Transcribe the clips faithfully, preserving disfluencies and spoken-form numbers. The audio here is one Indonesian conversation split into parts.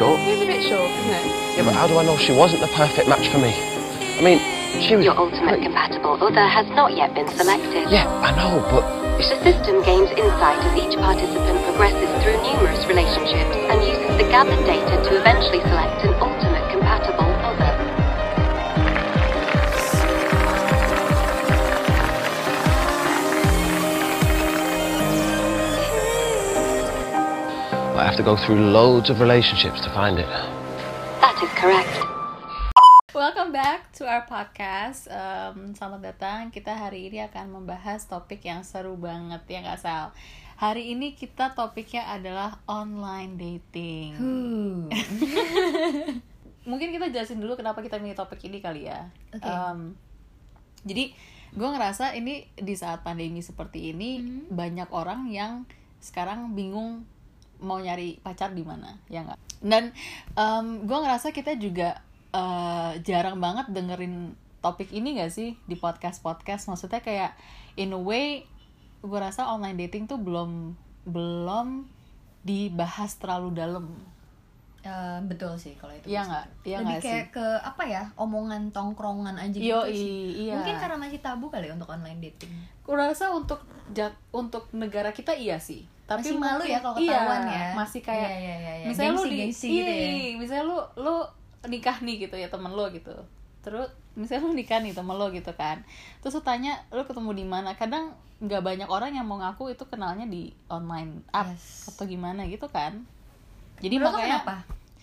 short. It's a bit short, isn't it? Yeah, but how do I know she wasn't the perfect match for me? I mean, she was... Your ultimate compatible other has not yet been selected. Yeah, I know, but... It's... The system gains insight as each participant progresses through numerous relationships and uses the gathered data to eventually select an ultimate compatible other. I have to go through loads of relationships to find it. That is correct. Welcome back to our podcast. Um, selamat datang. Kita hari ini akan membahas topik yang seru banget ya nggak Sal? Hari ini kita topiknya adalah online dating. Mungkin kita jelasin dulu kenapa kita milih topik ini kali ya. Okay. Um, jadi gue ngerasa ini di saat pandemi seperti ini mm-hmm. banyak orang yang sekarang bingung mau nyari pacar di mana, ya nggak? Dan um, gue ngerasa kita juga uh, jarang banget dengerin topik ini nggak sih di podcast-podcast. Maksudnya kayak in a way, gue rasa online dating tuh belum belum dibahas terlalu dalam. Uh, betul sih kalau itu. Iya nggak? Iya lebih nggak kayak sih? ke apa ya, omongan tongkrongan aja gitu Yo, sih. iya. Mungkin karena masih tabu kali ya untuk online dating. Gue rasa untuk jat, untuk negara kita iya sih. Tapi masih malu mungkin, ya kalau ketahuan iya, ya. Masih kayak iya, iya, iya, iya. misalnya gengsi, lu di gengsi iya, gitu ya. misalnya lu lu nikah nih gitu ya temen lu gitu. Terus misalnya lu nikah nih temen lu gitu kan. Terus lu tanya lu ketemu di mana? Kadang nggak banyak orang yang mau ngaku itu kenalnya di online app Yes. atau gimana gitu kan. Jadi Menurut lo makanya kenapa?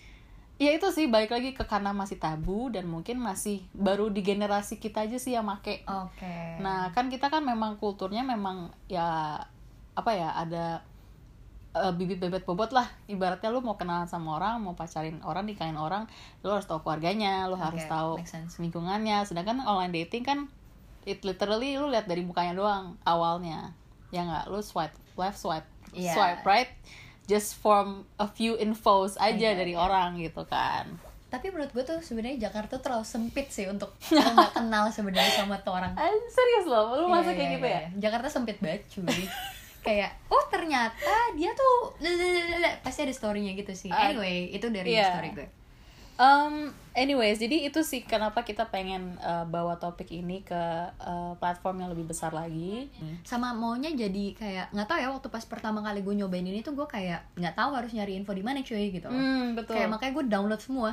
ya itu sih balik lagi ke karena masih tabu dan mungkin masih baru di generasi kita aja sih yang make. Oke. Okay. Nah kan kita kan memang kulturnya memang ya apa ya ada uh, bibit bebet bobot lah, ibaratnya lu mau kenalan sama orang, mau pacarin orang, nikahin orang, lu harus tahu keluarganya, lu okay, harus tahu lingkungannya. Sedangkan online dating kan it literally lu lihat dari mukanya doang awalnya, ya nggak, lu swipe left, swipe yeah. swipe right, just from a few infos aja okay, dari okay. orang gitu kan. Tapi menurut gue tuh sebenarnya Jakarta terlalu sempit sih untuk lo nggak kenal sebenarnya sama tuh orang. Eh, serius loh, lu yeah, masa kayak yeah, gitu yeah. ya? Jakarta sempit banget cuy. Kayak oh ternyata dia tuh pasti ada story-nya gitu sih. Anyway, uh, itu dari yeah. story gue. Um, anyways, jadi itu sih kenapa kita pengen uh, bawa topik ini ke uh, platform yang lebih besar lagi. Sama maunya jadi kayak nggak tahu ya, waktu pas pertama kali gue nyobain ini tuh gue kayak nggak tahu harus nyari info di mana cuy gitu. Hmm, betul. Kayak makanya gue download semua.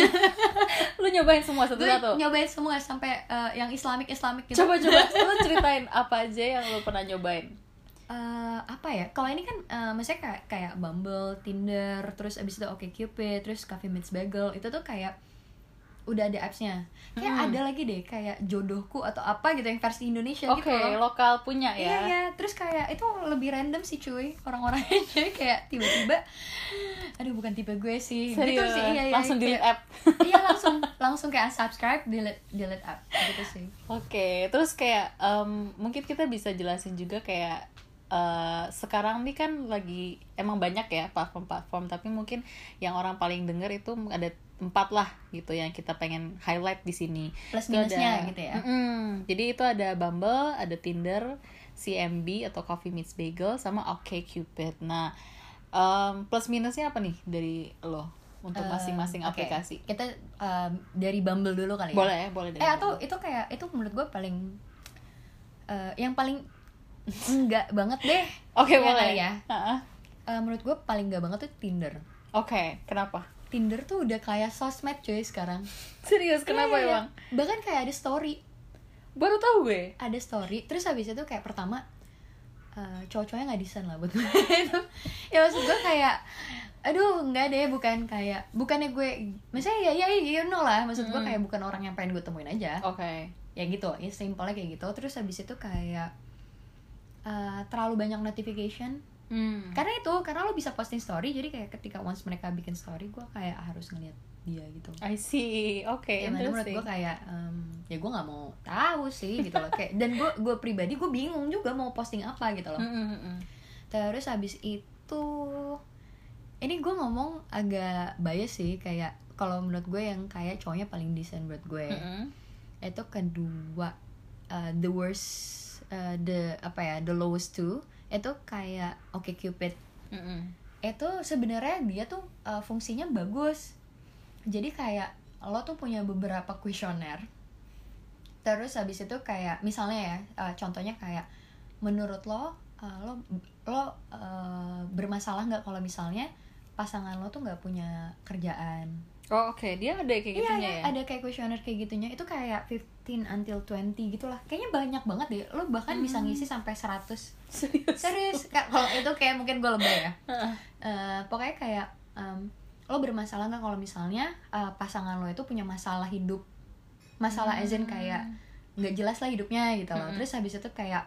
Lu nyobain semua satu-satu? Gue nyobain semua sampai uh, yang Islamic Islamic gitu. Coba coba lu ceritain apa aja yang lu pernah nyobain. Uh, apa ya? Kalau ini kan uh, maksudnya kayak kayak Bumble, Tinder, terus abis itu OkCupid, terus Coffee Meets Bagel, itu tuh kayak udah ada apps-nya. Kayak hmm. ada lagi deh kayak Jodohku atau apa gitu yang versi Indonesia okay, gitu. Oke, lokal punya ya. Iya, iya. Terus kayak itu lebih random sih cuy, orang-orangnya. Jadi kayak tiba-tiba aduh bukan tipe gue sih. Serius? Gitu sih. Iya, iya, langsung kayak, delete app. Iya, langsung langsung kayak unsubscribe, delete delete app gitu sih. Oke, okay, terus kayak um, mungkin kita bisa jelasin juga kayak Uh, sekarang nih kan lagi emang banyak ya platform-platform, tapi mungkin yang orang paling denger itu ada empat lah gitu yang kita pengen highlight di sini. Plus minusnya gitu ya. Mm-mm. Jadi itu ada Bumble, ada Tinder, C M B atau Coffee Meets Bagel, sama OkCupid. Nah, um, plus minusnya apa nih dari lo untuk masing-masing uh, okay. aplikasi? Kita um, dari Bumble dulu kali ya. Boleh ya, boleh dari Eh Bumble. atau itu kayak itu menurut gue paling uh, yang paling enggak banget deh. Oke, okay, ya, boleh ya. Uh-uh. Uh, menurut gue paling enggak banget tuh Tinder. Oke, okay, kenapa? Tinder tuh udah kayak sosmed cuy sekarang. Serius, kenapa ya, emang? Ya. Bahkan kayak ada story. Baru tahu gue. Ada story, terus habis itu kayak pertama uh, cowok-cowoknya nggak desain lah buat gue. Ya maksud gue kayak aduh nggak deh, bukan kayak bukannya gue misalnya ya ya you know lah, maksud gue kayak bukan orang yang pengen gue temuin aja. Oke. Okay. Ya gitu, ya simpelnya kayak gitu. Terus habis itu kayak Uh, terlalu banyak notification. hmm. Karena itu, karena lo bisa posting story, jadi kayak ketika once mereka bikin story, gue kayak harus ngeliat dia gitu. I see, oke, okay, ya, menurut gue kayak um, ya gue nggak mau tahu sih gitu loh. Kayak dan gue gue pribadi gue bingung juga mau posting apa gitu loh. Mm-hmm. Terus habis itu, ini gue ngomong agak bias sih, kayak kalau menurut gue yang kayak cowoknya paling decent buat gue, mm-hmm. itu kedua uh, the worst. Uh, the apa ya the lowest two itu kayak OkCupid. mm-hmm. itu sebenarnya dia tuh uh, fungsinya bagus. Jadi kayak lo tuh punya beberapa kuesioner. Terus habis itu kayak misalnya ya, uh, contohnya kayak menurut lo uh, lo lo uh, bermasalah nggak kalau misalnya pasangan lo tuh nggak punya kerjaan. Oh oke, okay. Dia ada kayak gitunya iya, ya? Ada kayak kuesioner kayak gitunya. Itu kayak fifteen until twenty gitulah. Kayaknya banyak banget deh. Lo bahkan hmm. bisa ngisi sampai seratus. Serius? Serius. Kalau itu kayak mungkin gue lebay ya. uh, Pokoknya kayak um, lo bermasalah nggak kalau misalnya uh, pasangan lo itu punya masalah hidup. Masalah hmm. as in kayak nggak jelas lah hidupnya gitu loh. Hmm. Terus habis itu kayak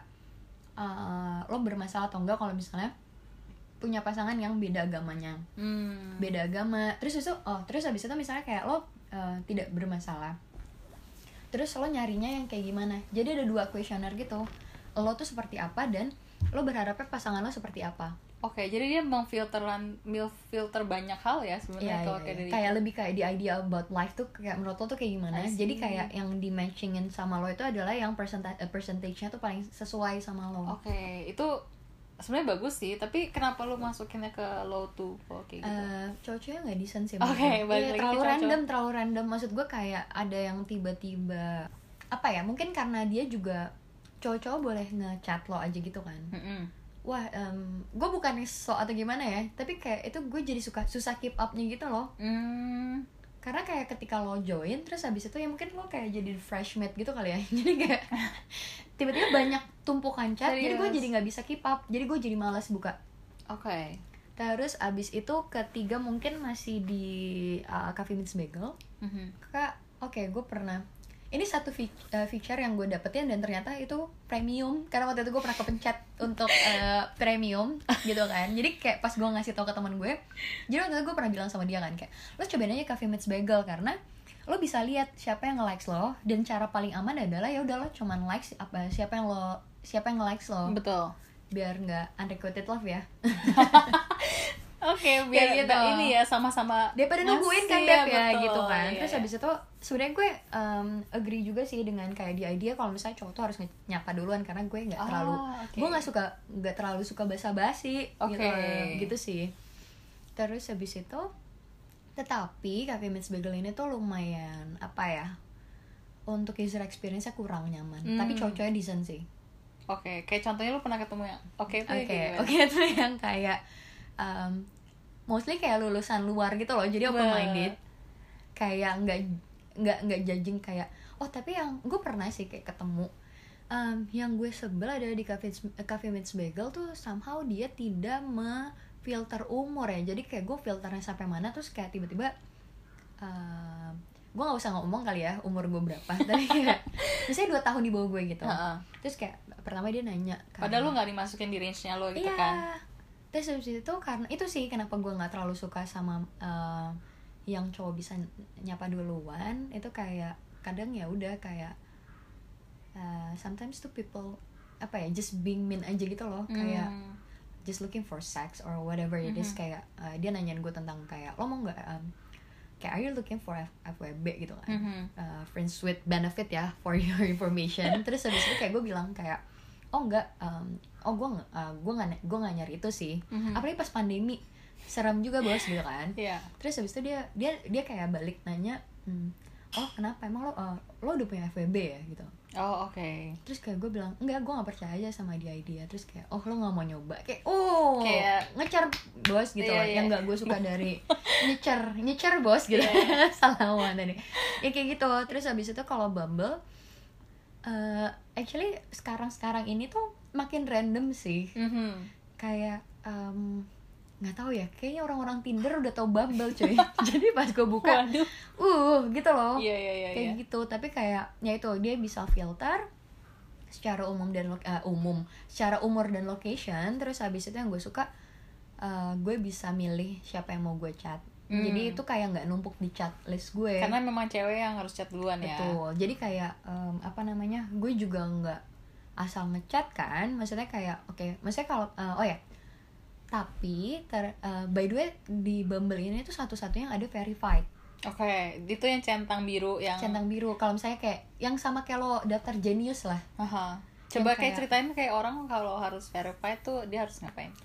uh, lo bermasalah atau enggak kalau misalnya punya pasangan yang beda agamanya, hmm. beda agama. Terus itu, oh terus habis itu misalnya kayak lo uh, tidak bermasalah. Terus lo nyarinya yang kayak gimana? Jadi ada dua kuesioner gitu. Lo tuh seperti apa dan lo berharapnya pasangan lo seperti apa? Oke, okay, jadi dia memfilteran, filter banyak hal ya sebenarnya. Iya, kalau iya, kayak dari kayak itu. lebih kayak the idea about life tuh kayak menurut lo tuh kayak gimana? Jadi kayak yang di matchingin sama lo itu adalah yang percentage percentage-nya tuh paling sesuai sama lo. Oke, okay, itu sebenarnya bagus sih, tapi kenapa lu masukinnya ke low to oh, kayak gitu? Uh, cowok-cowoknya nggak decent sih. Oke, okay, balik iya, lagi terlalu ke random, terlalu random. Maksud gue kayak ada yang tiba-tiba apa ya? Mungkin karena dia juga cowok-cowok boleh ngechat lo aja gitu kan. Mm-hmm. Wah, um, gue bukan so atau gimana ya, tapi kayak itu gue jadi suka susah keep up-nya gitu loh. Mm. Karena kayak ketika lo join terus habis itu ya mungkin lo kayak jadi fresh mate gitu kali ya. Jadi kayak tiba-tiba banyak tumpukan chat. Serius? Jadi gue jadi nggak bisa keep up. Jadi gue jadi malas buka. Oke. Okay. Terus abis itu ketiga mungkin masih di uh, Coffee Meets Bagel. Mm-hmm. Kak, oke okay, gue pernah. Ini satu fi- uh, feature yang gue dapetin dan ternyata itu premium. Karena waktu itu gue pernah kepencet untuk uh, premium gitu kan. Jadi kayak pas gue ngasih tau ke teman gue, jadi waktu itu gue pernah bilang sama dia kan kayak, lo cobain aja Coffee Meets Bagel karena lo bisa lihat siapa yang nge-likes lo, dan cara paling aman adalah ya udah lo cuman likes apa siapa yang lo siapa yang nge-likes lo. Betul. Biar nggak unrequited love ya. Oke, okay, biar gitu. Ini ya sama-sama daripada nungguin kan Beb ya, betul, gitu kan. iya, Terus iya. habis itu sebenarnya gue um, agree juga sih dengan kayak di idea kalau misalnya cowok tuh harus nyapa duluan karena gue nggak oh, terlalu okay. gue nggak suka nggak terlalu suka basa-basi okay. gitu gitu sih. Terus habis itu tetapi Coffee Meets Bagel ini tuh lumayan apa ya, untuk user experience-nya kurang nyaman. Hmm. Tapi cowok-cowoknya decent sih. Oke, okay. Kayak contohnya lu pernah ketemu yang oke okay, itu Oke, oke itu yang kayak um, mostly kayak lulusan luar gitu loh, jadi open minded, kayak nggak nggak nggak judging kayak oh tapi yang gue pernah sih kayak ketemu um, yang gue sebel ada di Coffee Coffee Meets Bagel tuh somehow dia tidak memfilter umur ya, jadi kayak gue filternya sampai mana terus kayak tiba-tiba um, gue nggak usah ngomong kali ya umur gue berapa, tapi kayak misalnya dua tahun di bawah gue gitu, uh-uh. terus kayak pertama dia nanya kayak, padahal lu nggak dimasukin di range-nya lo gitu iya. kan. Terus habis itu karena itu sih kenapa gue nggak terlalu suka sama uh, yang cowok bisa nyapa duluan. Itu kayak kadang ya udah kayak uh, sometimes tuh people apa ya just being mean aja gitu loh, mm. kayak just looking for sex or whatever it is. Mm-hmm. Kayak uh, dia nanyain gue tentang kayak lo mau nggak um, kayak are you looking for F W B gitu kan, mm-hmm. uh, friends with benefit ya for your information. Terus habis itu kayak gue bilang kayak oh enggak, um, oh gue uh, gue nggak gue nggak nyari itu sih, mm-hmm. apalagi pas pandemi serem juga bos gitu kan. Yeah. Terus habis itu dia dia dia kayak balik nanya, hmm, oh kenapa emang lo uh, lo udah punya F W B ya gitu. Oh oke. Okay. Terus kayak gue bilang enggak, gue nggak percaya aja sama dia idea. Terus kayak oh lo nggak mau nyoba kayak oh kayak ngecer bos gitu yeah, yeah. Yang nggak gue suka dari nyecer nyecer bos gitu. Yeah. Salah tadi ya kayak gitu. Terus habis itu kalau Bumble Uh, actually sekarang-sekarang ini tuh makin random sih, mm-hmm. kayak nggak um, tahu ya, kayaknya orang-orang Tinder udah tahu Bumble cuy. Jadi pas gue buka, Waduh. uh gitu loh, yeah, yeah, yeah, kayak yeah. gitu. Tapi kayak ya itu dia bisa filter secara umum dan lo- uh, umum, secara umur dan location. Terus habis itu yang gue suka, uh, gue bisa milih siapa yang mau gue chat. Hmm. Jadi itu kayak nggak numpuk di chat list gue. Karena memang cewek yang harus chat duluan. Betul. Ya. Betul. Jadi kayak um, apa namanya? Gue juga nggak asal ngechat kan. Maksudnya kayak oke, okay, maksudnya kalau uh, oh ya. Tapi ter, uh, by the way di Bumble ini tuh satu-satunya yang ada verified. Oke, okay. Itu yang centang biru yang centang biru. Kalau misalnya kayak yang sama kayak lo daftar Genius lah. Aha. Coba kayak, kayak ceritain kayak orang kalau harus verified tuh dia harus ngapain?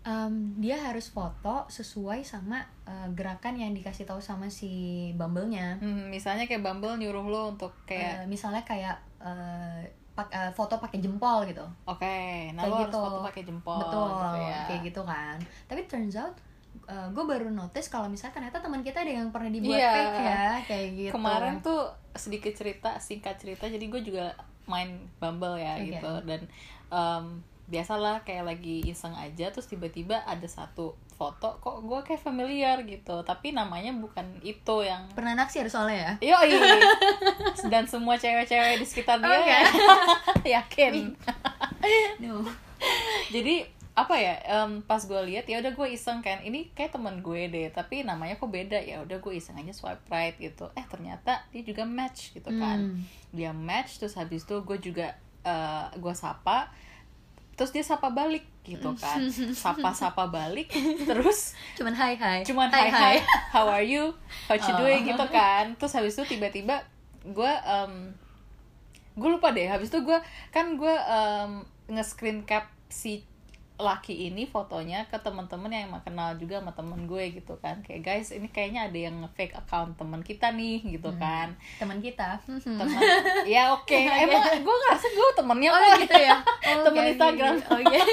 Um, dia harus foto sesuai sama uh, gerakan yang dikasih tahu sama si Bumble-nya. Hmm, misalnya kayak Bumble nyuruh lo untuk kayak uh, misalnya kayak uh, pak, uh, foto pakai jempol gitu. Oke, okay, nah kayak lo gitu. harus foto pakai jempol. Betul, gitu ya. kayak gitu kan. Tapi turns out uh, gue baru notice kalau misalnya ternyata teman kita ada yang pernah dibuat yeah. fake ya, kayak gitu. Kemarin tuh sedikit cerita, singkat cerita. Jadi gue juga main Bumble ya okay. gitu, dan um, biasalah kayak lagi iseng aja, terus tiba-tiba ada satu foto kok gue kayak familiar gitu, tapi namanya bukan itu yang pernah naksir soalnya ya. Yoi. Dan semua cewek-cewek di sekitar dia okay. yakin. No. Jadi apa ya, um, pas gue lihat ya udah gue iseng kan, ini kayak teman gue deh, tapi namanya kok beda, ya udah gue iseng aja swipe right gitu. Eh ternyata dia juga match gitu kan. Hmm. Dia match, terus habis itu gue juga uh, gue sapa, terus dia sapa balik gitu kan, sapa-sapa balik, terus cuman hai hai, cuman hai hai, how are you, how you oh. doing gitu kan. Terus habis itu tiba-tiba gue um, gue lupa deh, habis itu gue kan gue um, nge-screen cap si laki ini fotonya ke teman-teman yang emang kenal juga sama temen gue gitu kan, kayak guys ini kayaknya ada yang nge-fake account temen kita nih gitu kan. hmm. Teman kita teman ya oke okay. Emang gue ngerasa gue temennya oh kok gitu ya. Oh, temen okay, Instagram okay. Oh, okay.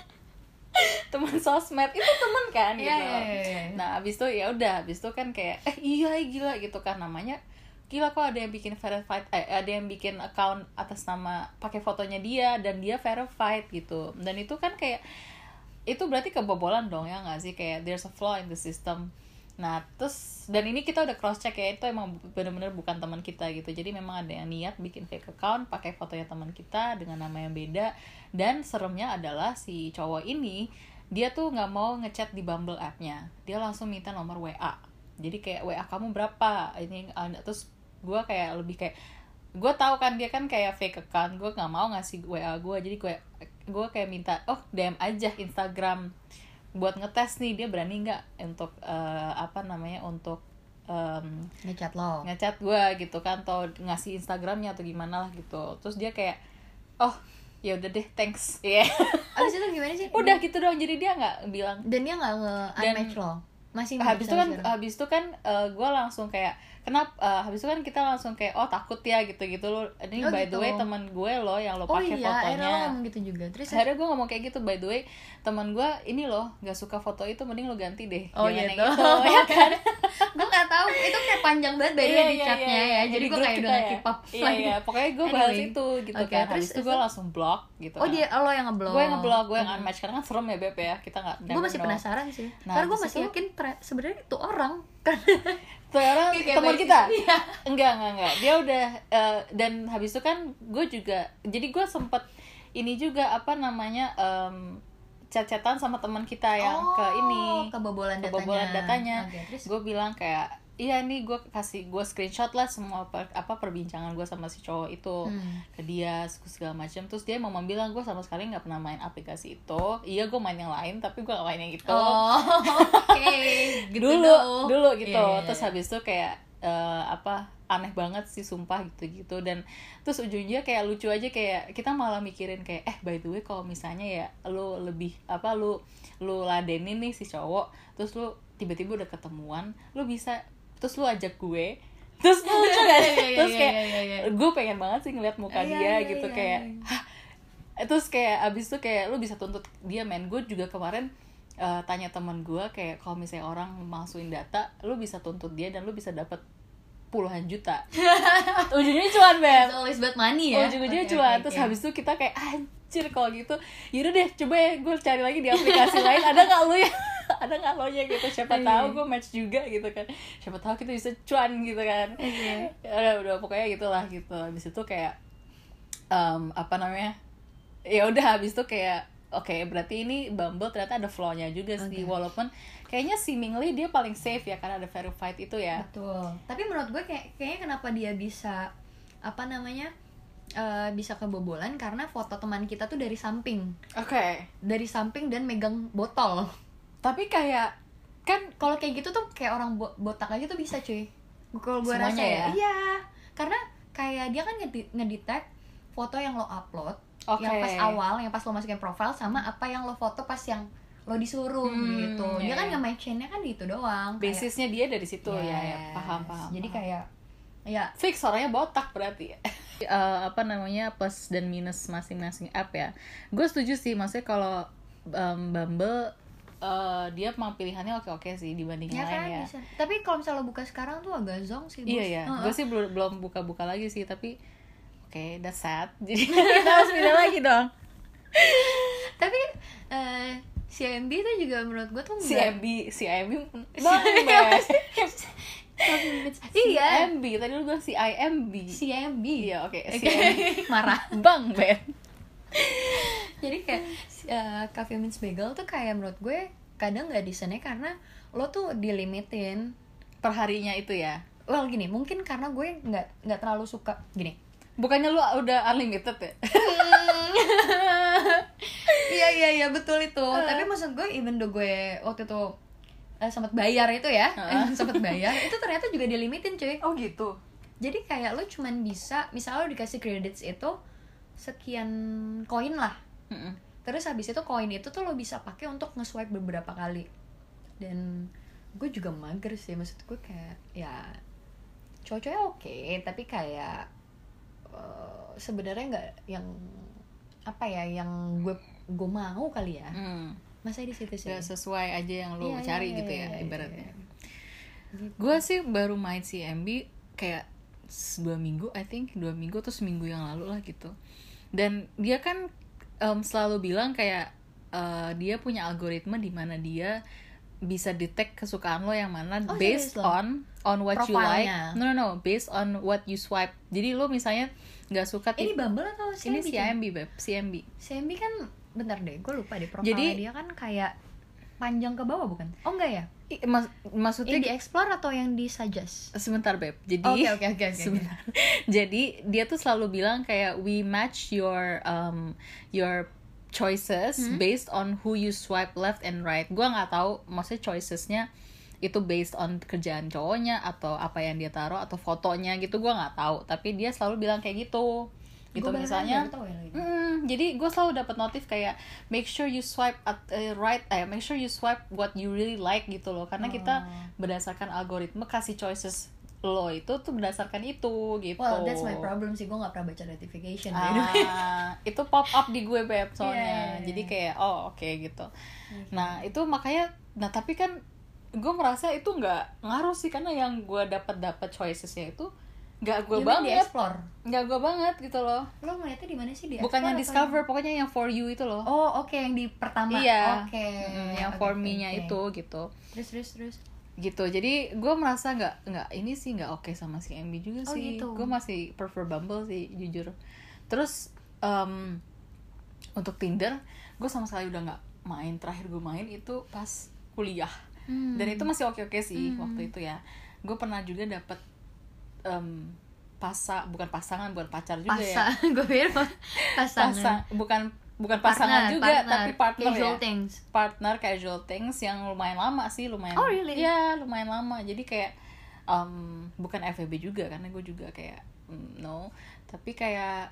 temen sosmed itu temen kan gitu. yeah, yeah, yeah, yeah. Nah abis itu ya udah, abis itu kan kayak eh iya gila gitu kan, namanya gila kok ada yang bikin verified, eh, ada yang bikin account atas nama pakai fotonya dia dan dia verified gitu. Dan itu kan kayak itu berarti kebobolan dong ya nggak sih, kayak there's a flaw in the system. Nah terus dan ini kita udah cross check ya, itu emang bener-bener bukan teman kita gitu. Jadi memang ada yang niat bikin fake account pakai fotonya teman kita dengan nama yang beda. Dan seremnya adalah si cowok ini dia tuh nggak mau ngechat di Bumble app-nya, dia langsung minta nomor W A. Jadi kayak W A kamu berapa ini, terus gue kayak lebih kayak gue tahu kan dia kan kayak fake account, gue nggak mau ngasih W A gue, jadi gue gue kayak minta oh D M aja Instagram buat ngetes nih dia berani nggak untuk uh, apa namanya untuk um, ngechat lo ngechat gue gitu kan, atau ngasih Instagramnya atau gimana lah gitu. Terus dia kayak oh ya udah deh thanks ya. Yeah. Abis itu gimana sih? Udah gitu dong, jadi dia nggak bilang dan dia nggak nge-unmatch lo masih. Habis itu kan habis itu kan uh, gue langsung kayak kenapa uh, habis itu kan kita langsung kayak oh takut ya gitu-gitu lo ini oh, by gitu. The way teman gue lo yang lo pakai oh, iya, fotonya. Oh iya, lo ngomong gitu juga. Terus akhirnya gue ngomong kayak gitu, by the way teman gue ini lo nggak suka foto itu, mending lo ganti deh. Oh iya gitu. Ya kan. Gue nggak tahu itu kayak panjang banget dari iya, di iya, chatnya iya, ya. Jadi gue kayak udah nggak keep up. Iya iya, pokoknya gue bahas anyway. Itu gitu okay, kan. Habis itu gue langsung block gitu. Oh kan. Dia lo yang ngeblok. Gue yang ngeblok, gue yang unmatch karena kan serem ya Beb ya. Kita nggak. Gue masih penasaran sih. Nah, karena gue masih yakin sebenarnya itu orang kan. Tuh orang teman kita iya. enggak enggak enggak dia udah uh, dan habis itu kan gue juga jadi gue sempet ini juga apa namanya um, chat-chatan sama teman kita yang oh, ke ini kebobolan datanya, kebobolan datanya. Okay, gue bilang kayak iya nih gue kasih gue screenshot lah semua per, apa perbincangan gue sama si cowok itu hmm. ke dia segala macam. Terus dia mau bilang gue sama sekali nggak pernah main aplikasi itu. Iya gue main yang lain tapi gue nggak main yang itu. Oh, oke okay. Gitu dulu dong. dulu gitu yeah, yeah, yeah. Terus habis itu kayak uh, apa aneh banget sih sumpah gitu-gitu. Dan terus ujungnya kayak lucu aja, kayak kita malah mikirin kayak eh by the way kalau misalnya ya lu lebih apa lu lu ladenin nih si cowok, terus lu tiba-tiba udah ketemuan, lu bisa terus lu ajak gue, terus lu lucu kan? Terus kayak gue pengen banget sih ngeliat muka dia gitu kayak hah. Terus kayak abis itu kayak lu bisa tuntut dia men. Gue juga kemarin uh, tanya teman gue kayak kalau misalnya orang masukin data, lu bisa tuntut dia dan lu bisa dapat puluhan juta. Ujungnya cuan Beb. It's always about money ya. Ujung-ujungnya okay, cuan. Okay, terus okay. Habis itu kita kayak anjir kalau gitu. Yaudah deh coba ya gue cari lagi di aplikasi lain ada nggak lu ya? Ada nggak lo nya gitu, siapa tahu gue match juga gitu kan, siapa tahu kita bisa cuan gitu kan. Okay. Udah udah pokoknya gitulah gitu. Habis itu kayak um, apa namanya ya udah habis itu kayak oke okay, berarti ini Bumble ternyata ada flaw-nya juga sih. Okay. Walaupun kayaknya seemingly dia paling safe ya karena ada verified itu ya. Betul. Tapi menurut gue kayak kayaknya kenapa dia bisa apa namanya uh, bisa kebobolan karena foto teman kita tuh dari samping. Oke. Okay. Dari samping dan megang botol. Tapi kayak kan kalau kayak gitu tuh kayak orang bo- botak aja tuh bisa cuy. Kalau gue rasa ya. Iya. Karena kayak dia kan ngedi- ngedetect foto yang lo upload, okay. yang pas awal, yang pas lo masukin profile sama apa yang lo foto pas yang lo disuruh Hmm, gitu. Dia iya, kan iya. nge-match-nya kan di itu doang. kayak- Basisnya dia dari situ ya, ya Yes. paham paham Jadi paham. kayak ya Fix orangnya botak berarti ya. Eh, apa namanya, plus dan minus masing-masing app ya. Gue setuju sih, maksudnya kalau um, Bumble uh, dia emang pilihannya oke-oke sih dibanding ya yang lain kan ya. bisa. Tapi kalau misalnya lo buka sekarang tuh agak zonk sih, Bos. Iya ya, Heeh. gue sih belum belum buka-buka lagi sih, tapi oke, okay, that's sad. Jadi kita harus pindah lagi dong. Tapi eh, C M B itu juga menurut gue tuh Si nggak- M B, si M B, bang Bes. Si Iya, M B, tadi lu bilang si I M B. C M B. Iya oke, si Oke. M B. Marah. Bang Ben. Jadi kayak uh, Coffee Meets Bagel tuh kayak menurut gue kadang nggak desainnya karena lo tuh dilimitin. Perharinya itu ya. Well gini, mungkin karena gue nggak nggak terlalu suka gini. Bukannya lu udah unlimited ya? Iya iya iya betul itu. Tapi maksud gue even though gue waktu itu uh, sempat bayar itu ya, Uh. sempat bayar itu ternyata juga dilimitin cuy. Oh gitu. Jadi kayak lo cuman bisa, misalnya lo dikasih credits itu sekian koin lah. Mm-mm. Terus habis itu koin itu tuh lo bisa pakai untuk nge-swipe beberapa kali. Dan gue juga mager sih, maksud gue kayak ya cowok-cowoknya oke, tapi kayak uh, sebenarnya nggak yang apa ya yang gue gue mau kali ya. Hmm. Masa di situ sih. Gak sesuai aja yang lu Iya, cari iya, gitu iya, ya iya, ibaratnya. Gitu. Gue sih baru main si M B kayak s- dua minggu, I think dua minggu atau seminggu yang lalu lah gitu. Dan dia kan um, selalu bilang kayak uh, dia punya algoritma di mana dia bisa detect kesukaan lo yang mana Oh, based serius lo? on on what you like. Profilnya. No no no, based on what you swipe. Jadi lo misalnya nggak suka Ini tip- Bumble atau C M B? ini si M B beb, si M B. C M B kan bentar deh, gue lupa deh profilnya. Jadi- dia kan kayak panjang ke bawah bukan? Oh enggak ya? I- Mas, maksudnya Yang di explore atau yang di suggest? sebentar beb. Jadi Oke oke oke oke. sebentar. Jadi dia tuh selalu bilang kayak we match your um your choices Hmm? based on who you swipe left and right. Gua nggak tahu maksudnya choicesnya itu based on kerjaan cowoknya atau apa yang dia taruh atau fotonya gitu, gua nggak tahu. Tapi dia selalu bilang kayak gitu. Gitu Gua bahkan misalnya. baru tahu ya lagi. Mm, jadi gue selalu dapat notif kayak make sure you swipe at uh, right, eh make sure you swipe what you really like gitu loh, karena kita Oh. berdasarkan algoritma kasih choices lo itu tuh berdasarkan itu gitu. Well, that's my problem sih, gue gak pernah baca notification by the way. Ah, itu pop up di gue beb soalnya. Iya, iya, iya. Jadi kayak oh oke gitu. Nah itu makanya, nah tapi kan gue merasa itu nggak ngaruh sih, karena yang gue dapat dapat choicesnya itu nggak gue You mean di banget, explore? nggak gue banget gitu loh. Lo ngeliatnya di mana sih di Bukan yang explore atau discover, pokoknya yang for you itu loh. yang- Oh oke, yang di pertama. Iya. Oke. Mm, yang Oke, for oke, me-nya oke. itu gitu. Terus terus terus. Gitu. Jadi gue merasa nggak nggak ini sih nggak oke sama si M B juga Oh, sih. gitu. Gue masih prefer Bumble sih jujur. Terus um, untuk Tinder gue sama sekali udah nggak main. Terakhir gue main itu pas kuliah. Hmm. Dan itu masih oke-oke sih Hmm. waktu itu ya. Gue pernah juga dapet um, pasa bukan pasangan, bukan pacar juga ya. Pasa, gue pikir pasangan. Pasang, bukan bukan pasangan Partner, juga, partner, tapi partner casual ya. things. Partner casual things yang lumayan lama sih, lumayan. Oh, really? Ya, lumayan lama. Jadi kayak um, bukan F W B juga, karena gue juga kayak mm, no, tapi kayak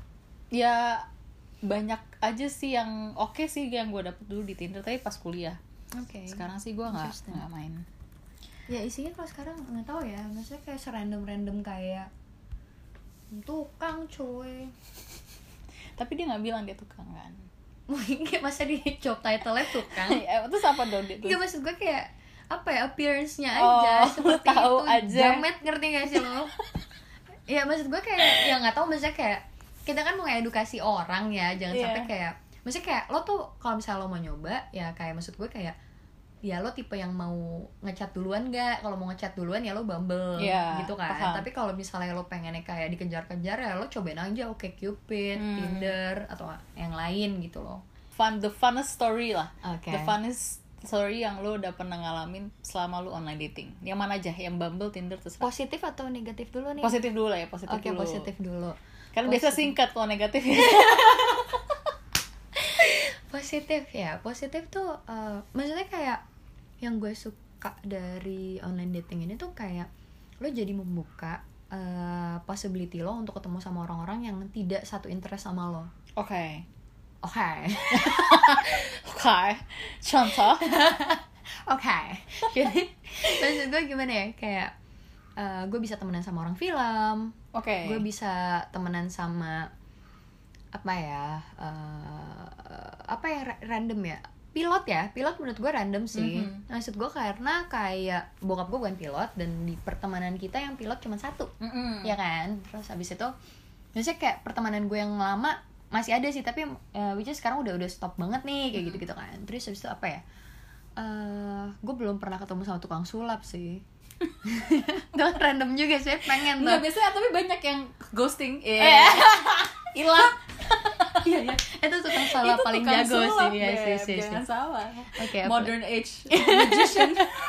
ya banyak aja sih yang oke sih yang gue dapet dulu di Tinder, tapi pas kuliah. Oke. Sekarang sih gue nggak Interesting. nggak main. Ya isinya kalau sekarang nggak tahu ya, maksudnya kayak serandom-random kayak tukang cuy. Tapi dia nggak bilang dia tukang kan. Mungkin masa di job title-nya tukang. Eh, terus apa dong dia? Iya maksud gue kayak apa ya, appearance-nya Oh, aja seperti tahu itu. aja. Jamet, ngerti gak sih lo? Ya maksud gue kayak ya nggak tahu, maksudnya kayak kita kan mau edukasi orang ya, jangan Iya. sampai kayak maksudnya kayak lo tuh kalau misalnya lo mau nyoba ya kayak maksud gue kayak ya lo tipe yang mau ngechat duluan nggak? Kalau mau ngechat duluan ya lo Bumble Iya, gitu kan. paham. Tapi kalau misalnya lo pengennya kayak dikejar-kejar ya lo cobain aja Oke Cupid, Hmm. Tinder atau yang lain gitu loh. Fun, the funnest story lah. Oke. The funnest story yang lo udah pernah ngalamin selama lo online dating. Yang mana aja? Yang Bumble, Tinder, terserah. Positif atau negatif dulu nih? Positif dulu lah ya, positif Oke, dulu. positif dulu. Karena biasa Positif. singkat kalau negatif. Positif ya, positif tuh uh, maksudnya kayak yang gue suka dari online dating ini tuh kayak lo jadi membuka uh, possibility lo untuk ketemu sama orang-orang yang tidak satu interest sama lo. Oke. oke. Oke, contoh. Oke. Jadi maksud gue gimana ya, kayak uh, gue bisa temenan sama orang film, Oke. Okay. gue bisa temenan sama apa ya, uh, apa ya ra- random ya, pilot ya, pilot menurut gue random sih. Mm-hmm. Maksud gue karena kayak bokap gue bukan pilot, dan di pertemanan kita yang pilot cuma satu, mm-hmm. ya kan. Terus habis itu, biasanya kayak pertemanan gue yang lama masih ada sih, tapi uh, which is sekarang udah udah stop banget nih kayak mm-hmm. gitu-gitu kan. Terus habis itu apa ya, uh, gue belum pernah ketemu sama tukang sulap sih. Gak random juga sih, pengen tuh. Nggak, biasanya tapi banyak yang ghosting, yeah. hilang. Iya, iya. Itu tukang sulap paling tukang jago sulap, sih. Ya, sih, sih, jangan sih. salah. Oke, okay, modern apa? Age magician.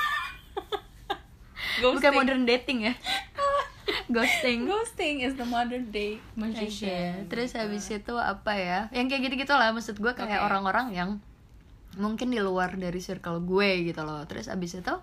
Bukan modern dating ya. Ghosting. Ghosting is the modern day magician. Okay. Terus habis itu apa ya? Yang kayak gitu-gitu lah, maksud gue kayak okay. orang-orang yang mungkin di luar dari circle gue gitu loh. Terus habis itu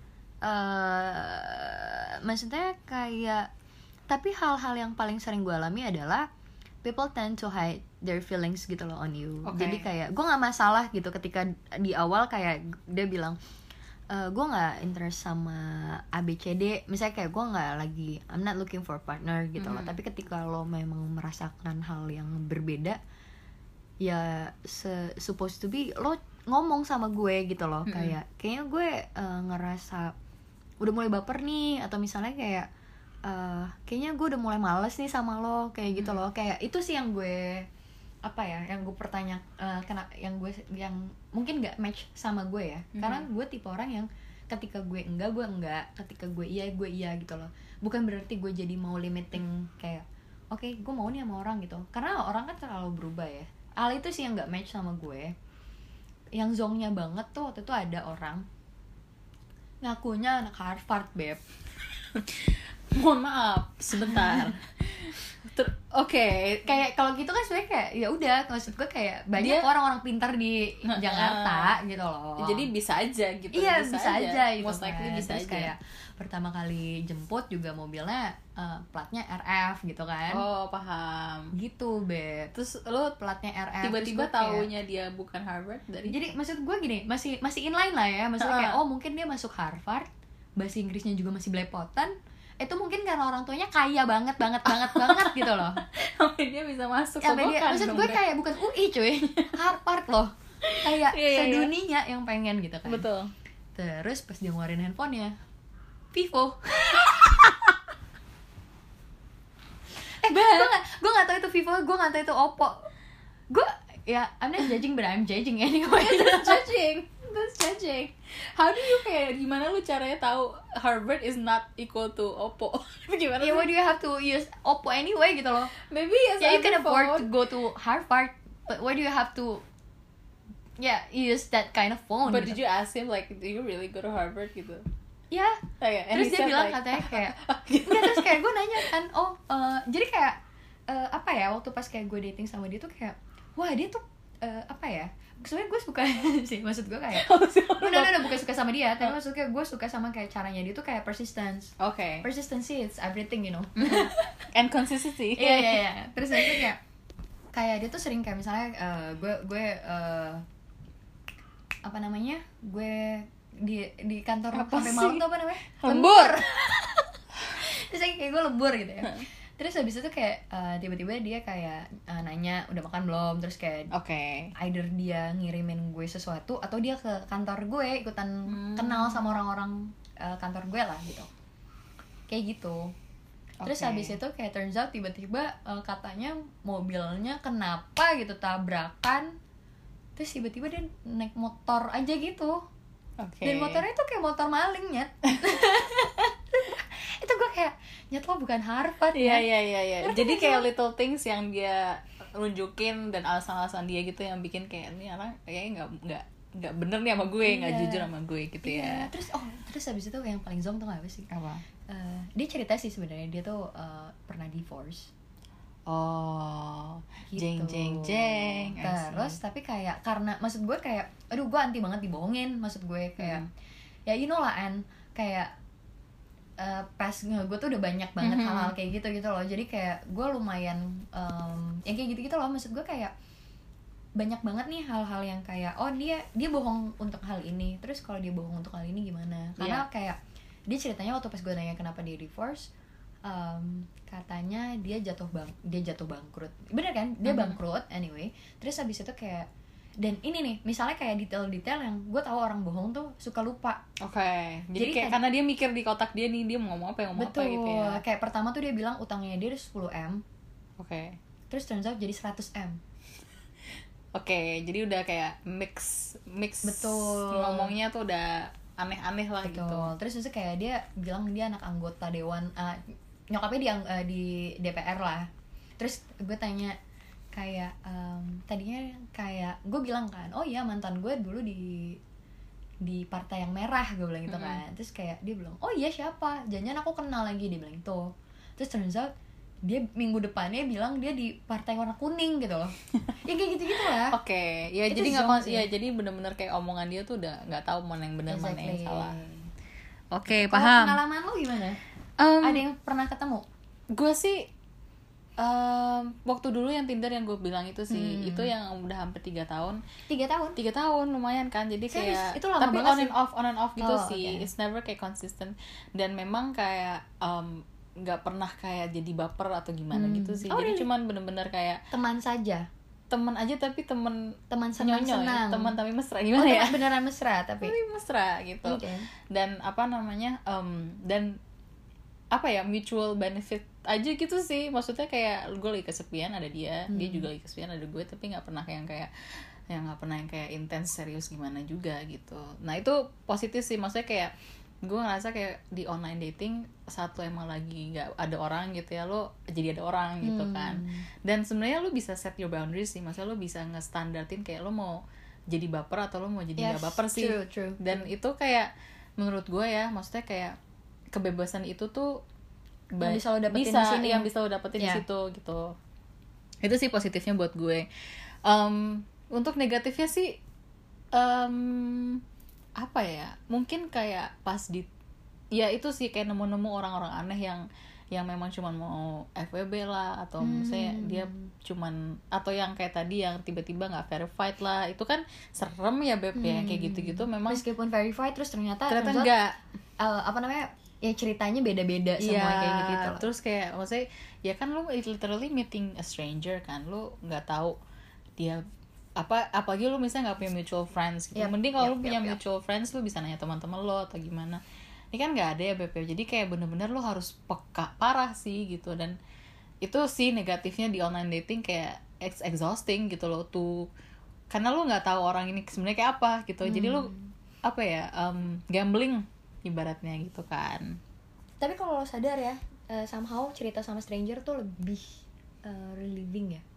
uh, maksudnya kayak, tapi hal-hal yang paling sering gue alami adalah people tend to hide their feelings gitu loh on you. Okay. Jadi kayak gue nggak masalah gitu ketika di awal kayak dia bilang, e, gue nggak interest sama A B C D, misalnya kayak gue nggak lagi, I'm not looking for a partner gitu mm-hmm. loh. Tapi ketika lo memang merasakan hal yang berbeda, ya se- supposed to be lo ngomong sama gue gitu loh. Mm-hmm. Kayak kayaknya gue uh, ngerasa udah mulai baper nih, atau misalnya kayak Uh, kayaknya gue udah mulai males nih sama lo kayak gitu hmm. loh. Kayak itu sih yang gue apa ya, yang gue pertanya uh, kena, yang gue yang mungkin nggak match sama gue ya. hmm. Karena gue tipe orang yang ketika gue enggak, gue enggak, ketika gue iya, gue iya gitu loh. Bukan berarti gue jadi mau limiting kayak oke okay, gue mau nih sama orang gitu, karena orang kan terlalu berubah ya. Hal itu sih yang nggak match sama gue. Yang zongnya banget tuh waktu itu ada orang ngakunya anak Harvard, beb. Mohon maaf, sebentar. Ter- Oke, okay. Kayak kalau gitu kan sebenarnya kayak ya udah, maksud gue kayak banyak dia, orang-orang pintar di uh, Jakarta uh, gitu loh. Jadi bisa aja gitu. Iya, bisa, bisa aja, aja gitu. Most likely kan. bisa Terus aja. Kayak pertama kali jemput juga mobilnya uh, platnya R F gitu kan. Oh, paham. Gitu, Beb. Terus lo platnya R F, tiba-tiba taunya kayak, dia bukan Harvard dari. Jadi maksud gue gini, masih masih inline lah ya. Maksudnya uh. kayak oh mungkin dia masuk Harvard, bahasa Inggrisnya juga masih belepotan. Itu mungkin karena orang tuanya kaya banget banget banget banget gitu loh. Sampai dia bisa masuk ke dia, maksud gue kayak bukan U I cuy, Harvard loh. Kayak yeah, sedunia yeah. yang pengen gitu kan. Betul. Terus pas dia ngeluarin handphonenya, Vivo. eh gue gak, gue gak tau itu Vivo, gue gak tau itu Oppo. Gue ya I'm not judging but I'm judging anyway. That's judging. That's judging. How do you kayak gimana lu caranya tahu Harvard is not equal to Oppo? Gimana? Yeah, why do you have to use Oppo anyway gitu loh? Maybe yes. Yeah, you can afford phone. to go to Harvard, but why do you have to yeah use that kind of phone? But gitu? Did you ask him like, do you really go to Harvard gitu? Ya. Yeah. Okay, terus dia bilang like, katanya kayak, nggak, terus kayak gue nanya kan, oh uh, jadi kayak uh, apa ya, waktu pas kayak gue dating sama dia tuh kayak, wah dia tuh uh, apa ya? Sebenarnya gue suka sih, maksud gue kayak no, no, no, bukan suka sama dia, tapi maksudnya gue suka sama kayak caranya dia tuh kayak persistence. Oke. Okay. Persistency it's everything, you know. And consistency. Iya iya iya. Terus itu kayak kayak dia tuh sering kayak misalnya uh, gue gue uh, apa namanya, gue di di kantor sampai malam tuh apa namanya, lembur. Terus kayak gue lembur gitu ya. Terus habis itu kayak uh, tiba-tiba dia kayak uh, nanya udah makan belum, terus kayak okay. either dia ngirimin gue sesuatu atau dia ke kantor gue ikutan hmm. kenal sama orang-orang uh, kantor gue lah gitu, kayak gitu. Terus okay. habis itu kayak turns out tiba-tiba uh, katanya mobilnya kenapa gitu, tabrakan, terus tiba-tiba dia naik motor aja gitu. Okay. Dan motornya tuh kayak motor maling, nyet. Itu gue kayak, nyet lo bukan Harvard ya. Iya iya iya. Jadi kayak little things yang dia nunjukin dan alasan-alasan dia gitu yang bikin kayak ini orang kayaknya nggak nggak nggak bener nih sama gue, nggak yeah. jujur sama gue gitu ya. Yeah. Terus oh terus habis itu yang paling zong tuh apa sih? Apa? Uh, dia cerita sih sebenarnya dia tuh uh, pernah divorce. Oh, gitu. jeng jeng jeng. Terus tapi kayak karena maksud gue kayak, aduh gue anti banget dibohongin, maksud gue kayak hmm. ya you know lah An, kayak uh, pas gue tuh udah banyak banget mm-hmm. hal-hal kayak gitu gitu loh. Jadi kayak gue lumayan um, yang kayak gitu gitu loh, maksud gue kayak banyak banget nih hal-hal yang kayak oh dia dia bohong untuk hal ini, terus kalau dia bohong untuk hal ini gimana, karena yeah. kayak dia ceritanya waktu pas gue nanya kenapa dia divorce, um, katanya dia jatuh bang dia jatuh bangkrut, bener kan, dia mm-hmm. bangkrut anyway, terus habis itu kayak, dan ini nih misalnya kayak detail-detail yang gue tahu orang bohong tuh suka lupa. Oke. Okay. Jadi, Jadi kayak kan, karena dia mikir di kotak dia nih dia mau ngomong apa yang ngomong betul, apa gitu ya. Kayak pertama tuh dia bilang utangnya dia sepuluh M. Oke. Okay. Terus turns out jadi seratus M. Oke, okay, jadi udah kayak mix mix betul. Ngomongnya tuh udah aneh-aneh lah betul. Gitu. Terus terus kayak dia bilang dia anak anggota dewan, uh, nyokapnya di uh, di D P R lah. Terus gue tanya kayak um, tadinya kayak gue bilang kan, oh iya mantan gue dulu di di partai yang merah, gue bilang gitu kan. Mm-hmm. Terus kayak dia bilang, oh iya siapa? Jangan aku kenal lagi, dia bilang itu. Terus turns out dia minggu depannya bilang dia di partai warna kuning gitu loh. Ya kayak gitu-gitu lah. Oke, okay. ya itu jadi nggak kons- ya jadi benar-benar kayak omongan dia tuh udah nggak tahu mana yang benar exactly. mana yang salah. Oke, okay, paham. Pengalaman lo gimana? Um, Ada yang pernah ketemu? Gue sih um, waktu dulu yang Tinder yang gue bilang itu sih, hmm. itu yang udah hampir tiga tahun. Tiga tahun? Tiga tahun lumayan kan, jadi serius? Kayak itu lama tapi banget on sih. and off, on and off gitu oh, sih. Okay. It's never kayak consistent dan memang kayak um, nggak pernah kayak jadi baper atau gimana hmm. gitu sih. Oh, jadi really? Cuman bener-bener kayak teman saja. Teman aja tapi teman teman senang-senang. Teman tapi mesra gimana oh, ya? Beneran mesra tapi. Tapi mesra gitu. Okay. Dan apa namanya? Um, dan apa ya, mutual benefit aja gitu sih. Maksudnya kayak gue lagi kesepian ada dia, hmm. dia juga lagi kesepian ada gue, tapi nggak pernah yang kayak yang nggak pernah yang kayak intens serius gimana juga gitu. Nah itu positif sih, maksudnya kayak gue ngerasa kayak di online dating satu emang lagi nggak ada orang gitu ya, lo jadi ada orang gitu kan. hmm. Dan sebenarnya lo bisa set your boundaries sih, maksudnya lo bisa ngestandartin kayak lo mau jadi baper atau lo mau jadi nggak yes, baper sih. True, true, dan true. Itu kayak menurut gue ya, maksudnya kayak kebebasan itu tuh ba- yang bisa lo dapetin bisa, di sini, yang bisa lo dapetin yeah. di situ gitu. Itu sih positifnya buat gue. Um, untuk negatifnya sih um, apa ya, mungkin kayak pas di ya itu sih kayak nemu-nemu orang-orang aneh yang yang memang cuman mau F W B lah, atau hmm. misalnya dia cuman, atau yang kayak tadi yang tiba-tiba nggak verified lah, itu kan serem ya beb. hmm. Ya kayak gitu-gitu memang meskipun verified terus ternyata ternyata enggak uh, apa namanya ya ceritanya beda-beda semua ya, kayak gitu, gitu terus kayak maksudnya ya kan lu literally meeting a stranger kan, lu nggak tahu dia apa, apalagi lu misalnya nggak punya mutual friends gitu. Yep, mending kalau yep, lu punya yep, mutual yep. friends, lu bisa nanya teman-teman lo atau gimana. Ini kan nggak ada ya B P, jadi kayak bener-bener lu harus peka parah sih gitu. Dan itu sih negatifnya di online dating, kayak it's exhausting gitu loh tuh, karena lu nggak tahu orang ini sebenarnya kayak apa gitu. hmm. Jadi lu apa ya, um, gambling ibaratnya gitu kan. Tapi kalau lo sadar ya, uh, somehow cerita sama stranger tuh lebih uh, relieving ya.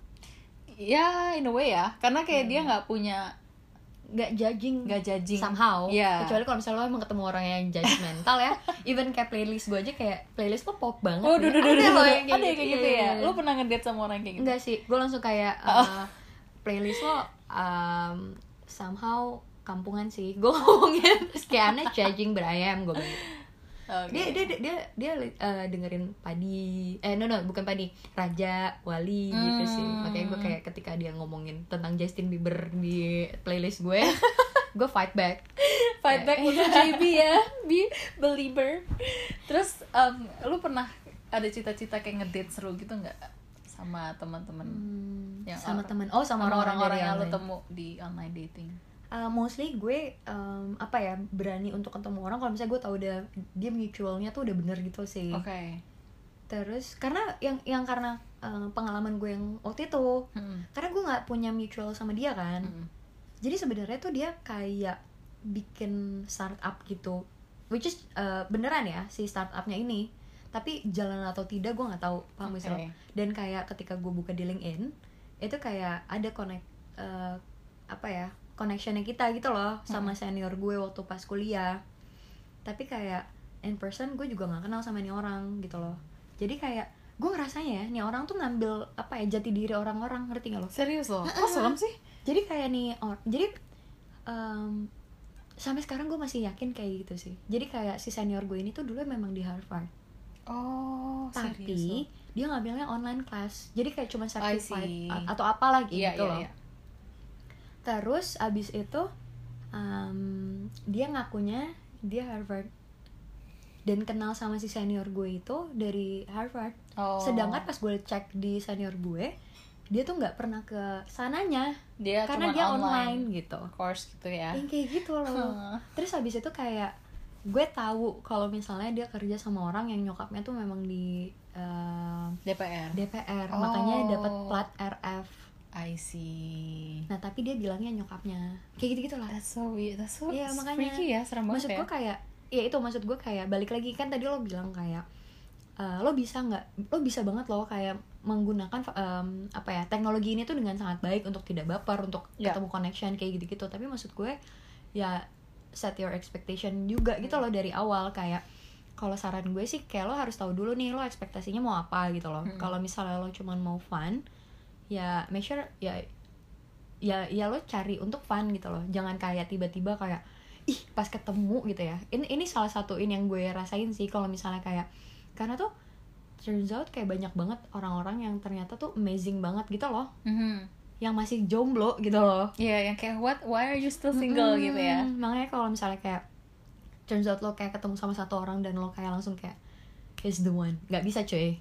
Ya, in a way ya, karena kayak hmm. dia nggak punya, nggak judging, nggak judging somehow. Yeah. Kecuali kalau misalnya lo emang ketemu orang yang judgmental ya. Even kayak playlist gue aja, kayak playlist lo pop banget. Oh, duh, duh, duh, ada duh, lo duh. yang kayak ada gitu, kayak gitu iya, ya. iya. Lo pernah ngedate sama orang kayak gitu? Enggak sih, gue langsung kayak uh, oh. playlist lo um, somehow kampungan sih. Gue ngomongin terus kayak aneh, judging, but I am, gue bilang. Okay. Dia dia dia dia, dia uh, dengerin Padi, eh no no bukan Padi, Raja Wali hmm. gitu sih. Makanya gue kayak ketika dia ngomongin tentang Justin Bieber di playlist gue, gue fight back, fight back untuk J B ya, be believer. Terus um, lu pernah ada cita-cita kayak ngedate seru gitu nggak sama teman-teman? Hmm, yang sama teman, oh sama orang-orang yang lu temu di online dating? Uh, mostly gue um, apa ya, berani untuk ketemu orang kalau misalnya gue tahu udah dia mutualnya tuh udah bener gitu sih. Oke. Okay. Terus karena yang yang karena uh, pengalaman gue yang waktu itu, hmm. karena gue nggak punya mutual sama dia kan, hmm. jadi sebenarnya tuh dia kayak bikin startup gitu, which is uh, beneran ya si startupnya ini, tapi jalan atau tidak gue nggak tahu, paham gak sih? Dan kayak ketika gue buka di LinkedIn itu kayak ada connect uh, apa ya, connectionnya kita gitu loh sama senior gue waktu pas kuliah. Tapi kayak in person gue juga nggak kenal sama nih orang gitu loh. Jadi kayak gue ngerasanya ya, nih orang tuh ngambil apa ya, jati diri orang-orang, ngerti nggak lo? Serius loh? Kok serem sih? Jadi kayak nih or- jadi um, sampai sekarang gue masih yakin kayak gitu sih. Jadi kayak si senior gue ini tuh dulu memang di Harvard. Oh, tapi serius dia ngambilnya online class. Jadi kayak cuma certified atau iya, apalah gitu iya, loh. iya. Terus abis itu um, dia ngakunya dia Harvard dan kenal sama si senior gue itu dari Harvard. Oh. Sedangkan pas gue cek di senior gue, dia tuh nggak pernah ke sananya, Dia karena cuman dia online. online gitu. Course gitu ya. Yang kayak gitu loh. Terus habis itu kayak gue tahu kalau misalnya dia kerja sama orang yang nyokapnya tuh memang di uh, D P R. D P R, Oh. makanya dapat plat R F. I see. Nah tapi dia bilangnya nyokapnya, kayak gitu gitulah. That's so weird. That's so Iya, makanya freaky ya, serem banget maksud ya. gue kayak, ya itu maksud gue kayak balik lagi kan tadi lo bilang kayak uh, lo bisa nggak, lo bisa banget lo kayak menggunakan um, apa ya teknologi ini tuh dengan sangat baik untuk tidak baper, untuk Yeah. ketemu connection kayak gitu-gitu. Tapi maksud gue ya set your expectation juga gitu loh dari awal. Kayak kalau saran gue sih kayak lo harus tahu dulu nih lo ekspektasinya mau apa gitu loh. Hmm. Kalau misalnya lo cuman mau fun, ya make sure ya ya ya lo cari untuk fun gitu loh. Jangan kayak tiba-tiba kayak ih pas ketemu gitu ya. Ini ini salah satu ini yang gue rasain sih kalau misalnya kayak, karena tuh turns out kayak banyak banget orang-orang yang ternyata tuh amazing banget gitu loh, Mhm. yang masih jomblo gitu loh. Iya, yang kayak what, why are you still single Mm-mm. gitu ya. Makanya kalau misalnya kayak turns out lo kayak ketemu sama satu orang dan lo kayak langsung kayak he's the one, nggak bisa cuy.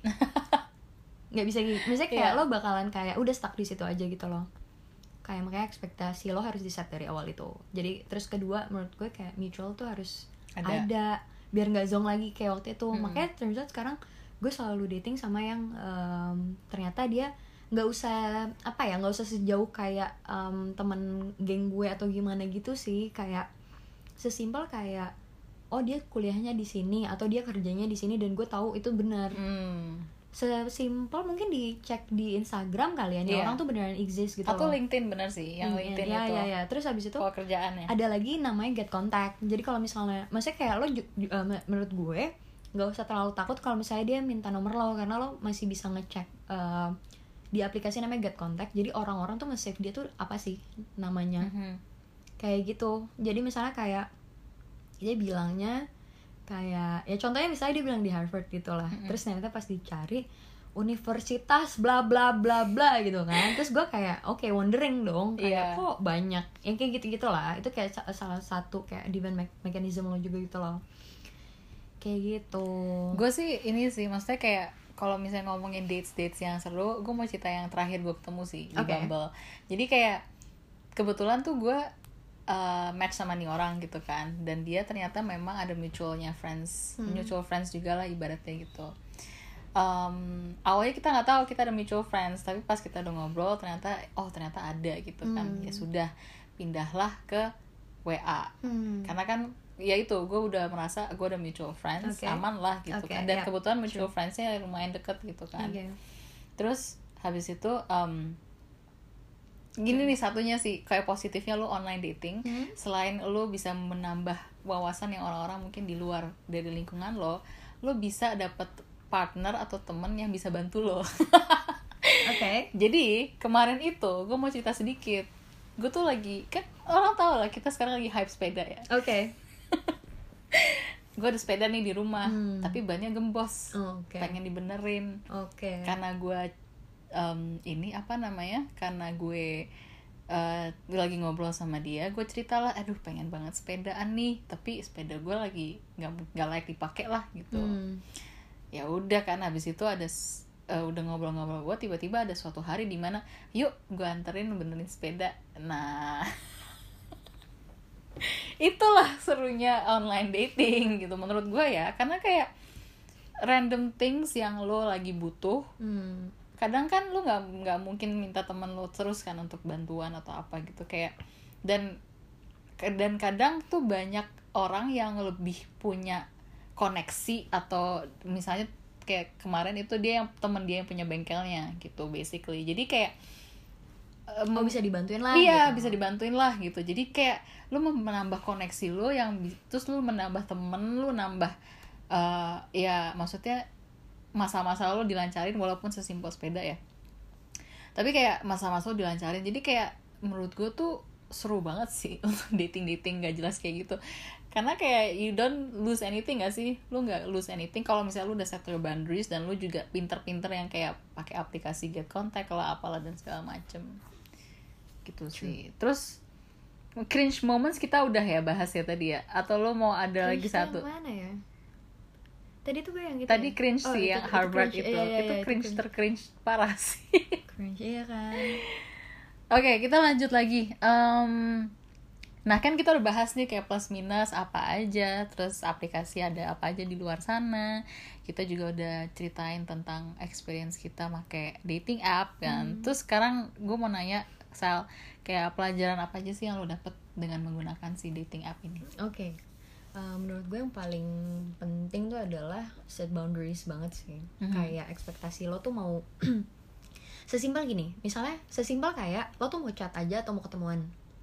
Nggak bisa gitu. Misalnya kayak Iya. lo bakalan kayak udah stuck di situ aja gitu loh. Kayak makanya ekspektasi lo harus di set dari awal itu. Jadi terus kedua menurut gue kayak mutual tuh harus Ada. ada, biar nggak zong lagi kayak waktu itu. Hmm. Makanya turns out sekarang gue selalu dating sama yang um, ternyata dia nggak usah apa ya nggak usah sejauh kayak um, temen geng gue atau gimana gitu sih. Kayak sesimpel kayak oh dia kuliahnya di sini atau dia kerjanya di sini dan gue tahu itu benar. Hmm. Sesimpel mungkin dicek di Instagram kali ya, nih Iya. orang tuh beneran exist gitu Atau loh. LinkedIn bener sih, yang Hmm, LinkedIn ya, itu. ya, ya. Terus habis itu Kalau kerjaan ya. ada lagi namanya get contact. Jadi kalau misalnya, maksudnya kayak lo ju- ju- uh, menurut gue nggak usah terlalu takut kalau misalnya dia minta nomor lo, karena lo masih bisa ngecek uh, di aplikasi namanya get contact. Jadi orang-orang tuh nge-save dia tuh apa sih namanya, Mhm. kayak gitu. Jadi misalnya kayak dia bilangnya kayak ya contohnya misalnya dia bilang di Harvard gitu lah. Mm-mm. Terus ternyata pas dicari universitas bla bla bla bla gitu kan. Terus gue kayak oke okay, wondering dong kayak Iya. kok banyak yang kayak gitu-gitu lah. Itu kayak sa- salah satu kayak defense me- mechanism lo juga gitu loh. Kayak gitu. Gue sih ini sih, maksudnya kayak kalau misalnya ngomongin dates-dates yang seru, gue mau cerita yang terakhir gue ketemu sih di Oke. Bumble. Jadi kayak kebetulan tuh gue uh, match sama nih orang gitu kan, dan dia ternyata memang ada mutualnya friends, Hmm. mutual friends juga lah ibaratnya gitu. Um, awalnya kita nggak tahu kita ada mutual friends, tapi pas kita udah ngobrol ternyata oh ternyata ada gitu kan. Hmm. Ya sudah, pindahlah ke W A. Hmm. Karena kan ya itu gue udah merasa gue ada mutual friends, Oke. aman lah gitu Oke, kan. Dan ya, kebetulan mutual true. friendsnya lumayan deket gitu kan. Oke. Terus habis itu um, gini nih satunya sih, kayak positifnya lu online dating, Hmm. selain lu bisa menambah wawasan yang orang-orang mungkin di luar dari lingkungan lo, lu bisa dapet partner atau temen yang bisa bantu lo. Oke. Jadi kemarin itu gue mau cerita sedikit. Gue tuh lagi, kan orang tau lah kita sekarang lagi hype sepeda ya. Oke. Gue ada sepeda nih di rumah, Hmm. tapi bannya gembos, Oke. pengen dibenerin. Oke. Karena gue um, ini apa namanya? Karena gue uh, lagi ngobrol sama dia, gue cerita lah, aduh pengen banget sepedaan nih, tapi sepeda gue lagi nggak nggak layak dipakai lah gitu. Hmm. Ya udah kan, habis itu ada s- uh, udah ngobrol-ngobrol gue, tiba-tiba ada suatu hari di mana yuk gue anterin benerin sepeda. Nah itulah serunya online dating gitu menurut gue ya, karena kayak random things yang lo lagi butuh, Hmm. kadang kan lo nggak nggak mungkin minta temen lo terus kan untuk bantuan atau apa gitu kayak, dan dan kadang tuh banyak orang yang lebih punya koneksi, atau misalnya kayak kemarin itu dia yang temen dia yang punya bengkelnya gitu basically, jadi kayak um, Oh bisa dibantuin lah. iya gitu. bisa dibantuin lah gitu. Jadi kayak lu menambah koneksi lu yang bi- terus lu menambah temen lu, nambah uh, ya maksudnya masa-masa lu dilancarin walaupun sesimpel sepeda ya, tapi kayak masa-masa lu dilancarin. Jadi kayak menurut gue tuh seru banget sih untuk dating-dating gak jelas kayak gitu, karena kayak you don't lose anything gak sih, lu gak lose anything kalau misalnya lu udah set your boundaries dan lu juga pinter-pinter yang kayak pakai aplikasi get contact lah apalah dan segala macem gitu sih. Terus cringe moments kita udah ya bahas ya tadi ya, atau lo mau ada lagi Cringe satu? yang mana ya? Tadi tuh gue yang gitu Tadi ya? cringe Oh, sih itu- yang itu Harvard cringe. itu, Iya, iya, itu iya, cringe cringe. tercringe parah sih. Cringe, iya kan. Oke, kita lanjut lagi. Em, nah kan kita udah bahas nih kayak plus minus apa aja, terus aplikasi ada apa aja di luar sana. Kita juga udah ceritain tentang experience kita pakai dating app kan. Terus sekarang gue mau nanya, Sal, kayak pelajaran apa aja sih yang lo dapet dengan menggunakan si dating app ini? Oke, Uh, menurut gue yang paling penting tuh adalah set boundaries banget sih. Mhm. Kayak ekspektasi lo tuh mau sesimpel gini, misalnya sesimpel kayak lo tuh mau chat aja atau mau ketemuan,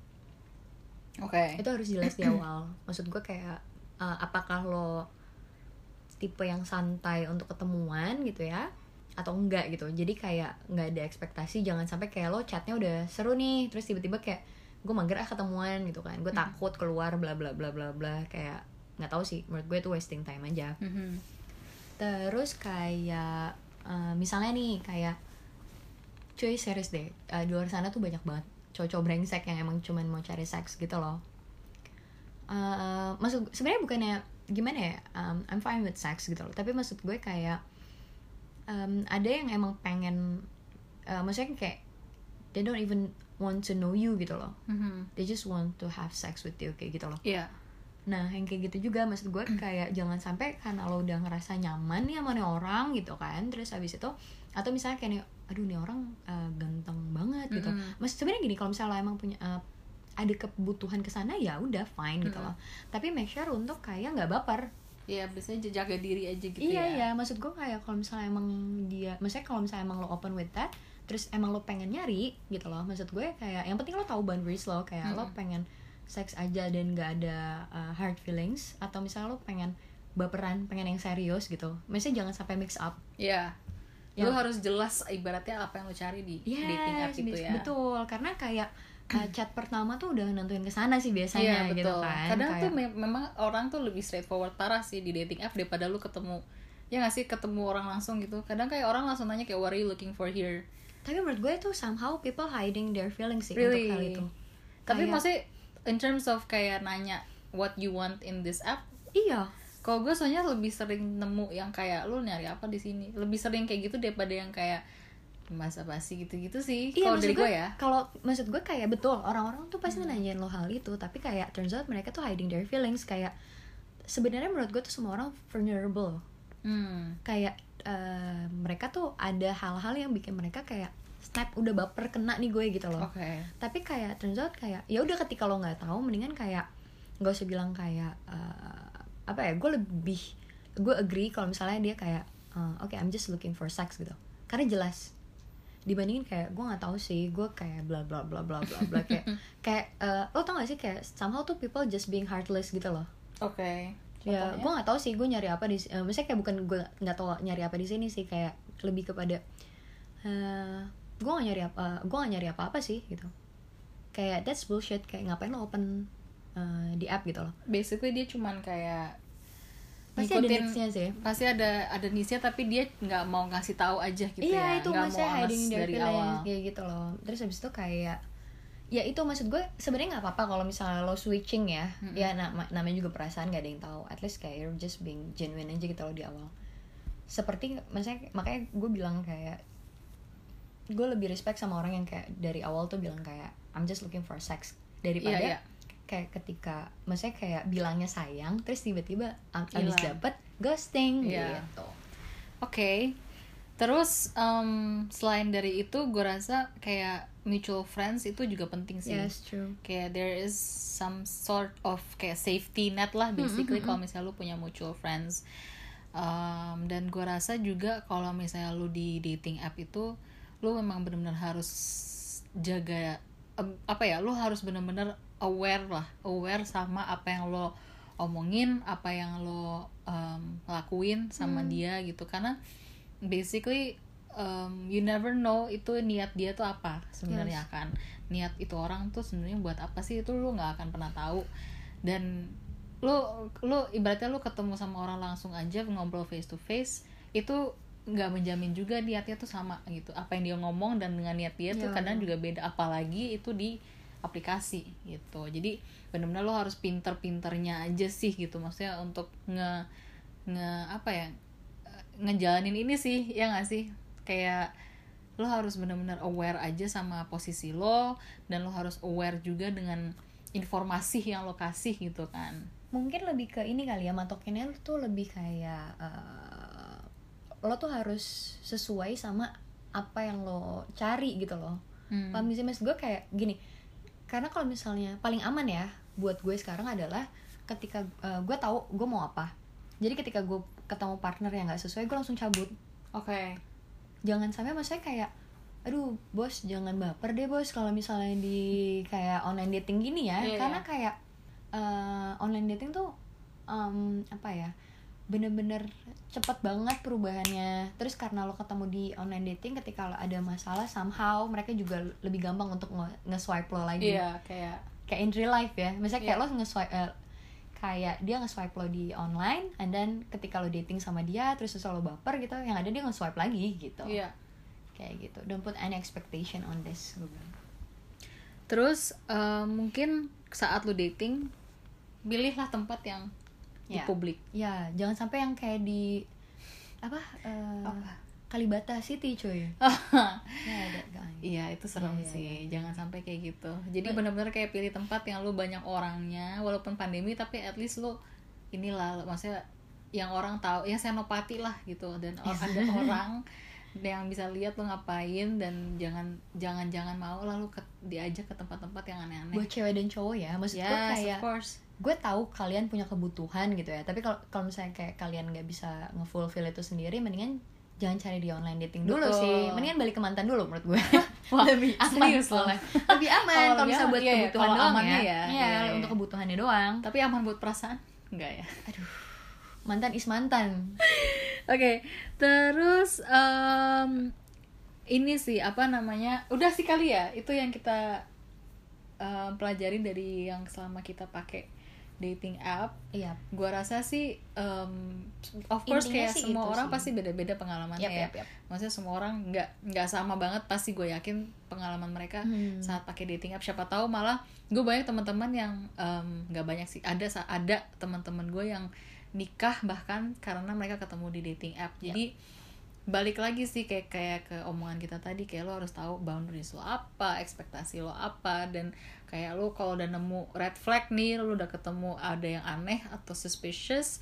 Oke. itu harus jelas di awal. Maksud gue kayak uh, apakah lo tipe yang santai untuk ketemuan gitu ya, atau enggak gitu. Jadi kayak nggak ada ekspektasi, jangan sampai kayak lo chatnya udah seru nih, terus tiba-tiba kayak gue mager ah ketemuan gitu kan, gue takut keluar bla bla bla bla bla, kayak nggak tahu sih, menurut gue itu wasting time aja. Mhm. Terus kayak uh, misalnya nih kayak cuy serius deh, uh, di luar sana tuh banyak banget cowok-cowok brengsek yang emang cuman mau cari seks gitu loh. Uh, maksud sebenarnya bukannya gimana ya, um, I'm fine with sex gitu loh, tapi maksud gue kayak um, ada yang emang pengen uh, maksudnya kayak they don't even want to know you gitu loh, Mhm. they just want to have sex with you kayak gitu loh. Iya. Nah yang kayak gitu juga maksud gue kayak jangan sampai karena lo udah ngerasa nyaman nih sama nih orang gitu kan, terus habis itu atau misalnya kayak nih, aduh nih orang uh, ganteng banget gitu. Mm-mm. Maksud sebenarnya gini, kalau misalnya lo emang punya uh, ada kebutuhan kesana ya udah fine gitu loh. Tapi make sure untuk kayak nggak baper. Iya, biasanya jaga diri aja gitu Iya ya. iya, maksud gue kayak kalau misalnya emang dia, maksudnya kalau misalnya emang lo open with that, terus emang lo pengen nyari gitu loh, maksud gue kayak yang penting lo tahu boundaries lo, kayak lo Mm-mm. pengen seks aja dan gak ada uh, hard feelings, atau misalnya lo pengen baperan, pengen yang serius gitu, maksudnya jangan sampai mix up. Iya. Ya. Lu harus jelas ibaratnya apa yang lu cari di Yes, dating app itu ya. betul, karena kayak uh, chat pertama tuh udah nentuin kesana sih biasanya. Iya, gitu betul. kan. Kadang Kayak- tuh me- memang orang tuh lebih straightforward parah sih di dating app daripada lu ketemu, ya nggak sih, ketemu orang langsung gitu. Kadang kayak orang langsung nanya kayak what are you looking for here. tapi menurut gue tuh somehow people hiding their feelings sih Really? untuk hal itu. Tapi Kayak- maksudnya in terms of kayak nanya what you want in this app, Iya. kalau gue soalnya lebih sering nemu yang kayak lu nyari apa di sini, lebih sering kayak gitu daripada yang kayak masa basi gitu-gitu sih. Iya, Kalau maksud dari gue ya. Kalau maksud gue kayak betul orang-orang tuh pasti nanyain lo hal itu, tapi kayak turns out mereka tuh hiding their feelings. Kayak sebenarnya menurut gue tuh semua orang vulnerable. Hmm. Kayak eh, mereka tuh ada hal-hal yang bikin mereka kayak snap, udah baper kena nih gue gitu loh. Oke. Tapi kayak turns out kayak ya udah, ketika lo nggak tahu mendingan kayak nggak usah bilang kayak eh, apa ya, gue lebih gue agree kalau misalnya dia kayak eh, oke I'm just looking for sex gitu, karena jelas dibandingin kayak gue nggak tahu sih, gue kayak bla bla bla bla bla bla kayak kayak eh, lo tau gak sih kayak somehow tuh people just being heartless gitu loh. Oke. Ya, gue nggak tahu sih gue nyari apa di, uh, misalnya kayak bukan gue nggak tahu nyari apa di sini sih, kayak lebih kepada uh, gue nggak nyari apa, gue nggak nyari apa apa sih gitu. Kayak that's bullshit, kayak ngapain lo open uh, di app gitu loh. Basically dia cuman kayak Pasti ada ngikutin- needs-nya sih. Pasti ada ada niche-nya, tapi dia nggak mau ngasih tahu aja gitu Iya ya. itu Nggak maksudnya mau honest hiding their dari feelings awal. kayak gitu loh. Terus habis itu kayak ya itu maksud gue sebenarnya nggak apa-apa kalau misalnya lo switching ya. Mm-mm. Ya nama, namanya juga perasaan, nggak ada yang tahu. At least kayak you're just being genuine aja gitu loh di awal. Seperti maksudnya makanya gue bilang kayak gue lebih respect sama orang yang kayak dari awal tuh bilang kayak I'm just looking for sex, daripada Iya, iya. kayak ketika maksudnya kayak bilangnya sayang terus tiba-tiba ab- abis Hilang. dapet ghosting Iya. gitu. Oke. Terus em, selain dari itu gue rasa kayak mutual friends itu juga penting sih. Yes, true. Kayak there is some sort of kayak safety net lah basically mm, kalau misalnya lu punya mutual friends. Um, dan gue rasa juga kalau misalnya lu di dating app itu lu memang benar-benar harus jaga em, apa ya, lu harus benar-benar aware lah, aware sama apa yang lo omongin, apa yang lo um, lakuin sama dia gitu, karena basically um, you never know itu niat dia tuh apa sebenarnya. Yes. Kan niat itu orang tuh sebenarnya buat apa sih, itu lu nggak akan pernah tahu. Dan lu lu ibaratnya lu ketemu sama orang langsung aja ngobrol face to face, itu nggak menjamin juga niatnya tuh sama gitu, apa yang dia ngomong dan dengan niat dia tuh Ya, kadang juga beda, apalagi itu di aplikasi gitu. Jadi benar-benar lo harus pinter-pinternya aja sih gitu, maksudnya untuk nge nge apa ya ngejalanin ini sih, ya nggak sih, kayak lo harus benar-benar aware aja sama posisi lo, dan lo harus aware juga dengan informasi yang lo kasih gitu kan. Mungkin lebih ke ini kali ya, matokinnya tuh lebih kayak uh, lo tuh harus sesuai sama apa yang lo cari gitu loh. hmm. Paham sih mas gue kayak gini, karena kalau misalnya paling aman ya buat gue sekarang adalah ketika uh, gue tahu gue mau apa, jadi ketika gue ketemu partner yang nggak sesuai gue langsung cabut. Oke. Okay. Jangan sampai maksudnya kayak aduh bos jangan baper deh bos kalau misalnya di kayak online dating gini ya, yeah, karena yeah. kayak uh, online dating tuh um, apa ya bener-bener cepet banget perubahannya. Terus karena lo ketemu di online dating, ketika lo ada masalah somehow mereka juga lebih gampang untuk nge-swipe lo lagi. Iya, yeah, kayak kayak in real life ya, misalnya kayak yeah. lo nge-swipe uh, kayak dia nge-swipe lo di online, and then ketika lo dating sama dia terus lo baper gitu, yang ada dia nge-swipe lagi gitu. Iya. Kayak gitu. Don't put any expectation on this. Terus uh, mungkin saat lo dating, pilihlah tempat yang di ya. publik. Ya, jangan sampai yang kayak di apa? Uh, apa? Kalibata City cuy. Ya, ada guys. Iya, itu serem ya, sih. Ya, ya. Jangan sampai kayak gitu. Jadi benar-benar kayak pilih tempat yang lu banyak orangnya, walaupun pandemi tapi at least lu inilah, maksudnya yang orang tahu, yang senopati lah gitu, dan ada orang yang bisa lihat lu ngapain, dan jangan jangan jangan mau lah lu ke, diajak ke tempat-tempat yang aneh-aneh. Buat cewek dan cowok ya, maksud yes, gue kayak of course. Gue tahu kalian punya kebutuhan gitu ya, tapi kalau kalau misalnya kayak kalian nggak bisa nge-fulfill itu sendiri, mendingan jangan cari di online dating dulu. Betul. Sih, mendingan balik ke mantan dulu menurut gue. Wah, lebih aman soalnya. Lebih aman kalau misalnya buat iya, kebutuhan iya, doang ya. ya. Iya, ya, ya. Untuk kebutuhannya doang. Tapi aman buat perasaan? Enggak ya? Aduh. Mantan is mantan. Oke, okay. Terus um, ini sih apa namanya? Udah sih kali ya, itu yang kita um, pelajarin dari yang selama kita pakai dating app. Iya. Gua rasa sih um, of course intinya kayak semua orang sih. pasti beda-beda pengalamannya yep, ya. Yep, yep. Maksudnya semua orang nggak nggak sama banget, pasti gue yakin pengalaman mereka hmm. saat pakai dating app. Siapa tahu malah gue banyak teman-teman yang nggak um, banyak sih, ada ada teman-teman gue yang nikah bahkan karena mereka ketemu di dating app. Jadi yep. balik lagi sih kayak kayak ke omongan kita tadi, kayak lo harus tahu boundaries lo apa, ekspektasi lo apa, dan kayak lo kalau udah nemu red flag nih, lo udah ketemu ada yang aneh atau suspicious,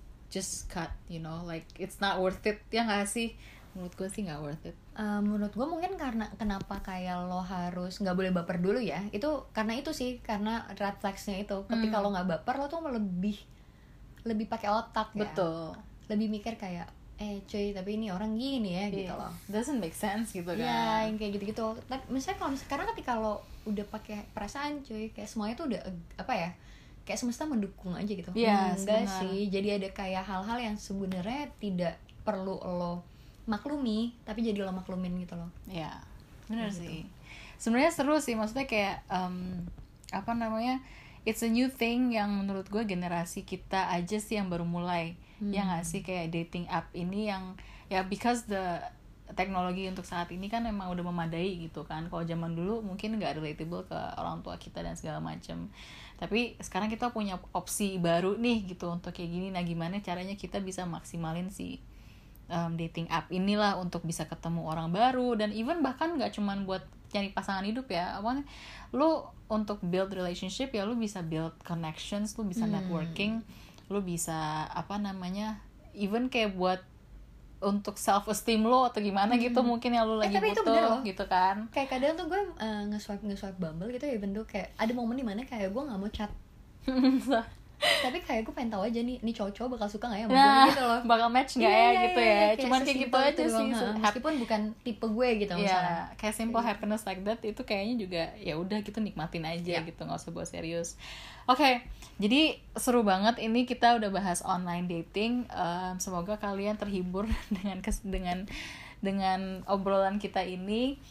just cut, you know, like it's not worth it, ya nggak sih? Menurut gue sih nggak worth it. Uh, menurut gue mungkin karena kenapa kayak lo harus nggak boleh baper dulu ya, itu karena itu sih, karena red flagsnya itu ketika hmm. lo nggak baper, lo tuh lebih lebih pakai otak ya. Betul. Lebih mikir kayak eh cuy tapi ini orang gini ya, yeah. gitu loh. Doesn't make sense gitu kan. Iya, yang kayak gitu-gitu. Tapi misalnya kalau sekarang ketika lo udah pakai perasaan cuy, kayak semuanya tuh udah apa ya? Kayak semesta mendukung aja gitu. Iya, hmm, enggak sih. Jadi ada kayak hal-hal yang sebenarnya tidak perlu lo maklumi, tapi jadi lo maklumin gitu loh. Iya. Benar gitu. sih. Sebenarnya seru sih, maksudnya kayak um, apa namanya? It's a new thing yang menurut gue generasi kita aja sih yang baru mulai. Hmm. Ya nggak sih, kayak dating app ini yang ya because the teknologi untuk saat ini kan emang udah memadai gitu kan. Kalau zaman dulu mungkin nggak relatable ke orang tua kita dan segala macam. Tapi sekarang kita punya opsi baru nih gitu untuk kayak gini. Nah gimana caranya kita bisa maksimalin si um, dating app inilah untuk bisa ketemu orang baru, dan even bahkan nggak cuman buat cari pasangan hidup ya, apa lu untuk build relationship ya, lu bisa build connections, lu bisa hmm. networking, lu bisa apa namanya, even kayak buat untuk self esteem lo atau gimana hmm. gitu mungkin yang lu lagi eh, butuh gitu kan. Kayak kadang tuh gue uh, nge-swipe nge-swipe Bumble gitu ya, bentuk kayak ada momen dimana kayak gue nggak mau chat tapi kayak gue pengen tahu aja nih nih cowok-cowok bakal suka nggak ya sama nah, gue gitu loh, bakal match nggak yeah, ya yeah, gitu yeah, ya kayak cuman kayak gitu aja sih, meskipun bukan tipe gue gitu yeah, misalnya kayak simple happiness like that itu kayaknya juga ya udah gitu, nikmatin aja yeah. gitu, nggak usah bawa serius. Oke, okay, jadi seru banget ini kita udah bahas online dating. Um, semoga kalian terhibur dengan kes- dengan dengan obrolan kita ini.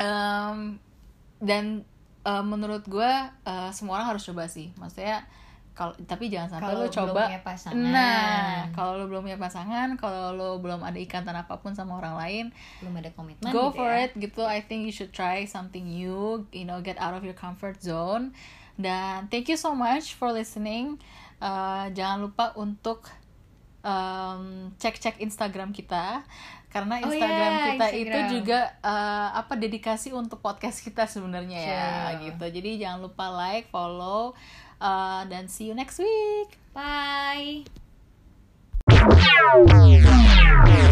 Um, dan uh, menurut gue uh, semua orang harus coba sih. Maksudnya kalau tapi jangan sampai Kalau lo coba belum punya pasangan. nah kalau lo belum punya pasangan, kalau lo belum ada ikatan apapun sama orang lain, belum ada komitmen go gitu for ya. it gitu. I think you should try something new, you know, get out of your comfort zone. Dan thank you so much for listening. Uh, jangan lupa untuk um, cek-cek Instagram kita, karena Oh Instagram yeah, kita Instagram. itu juga uh, apa dedikasi untuk podcast kita sebenarnya ya Sure. gitu. Jadi jangan lupa like, follow, uh, dan see you next week. Bye.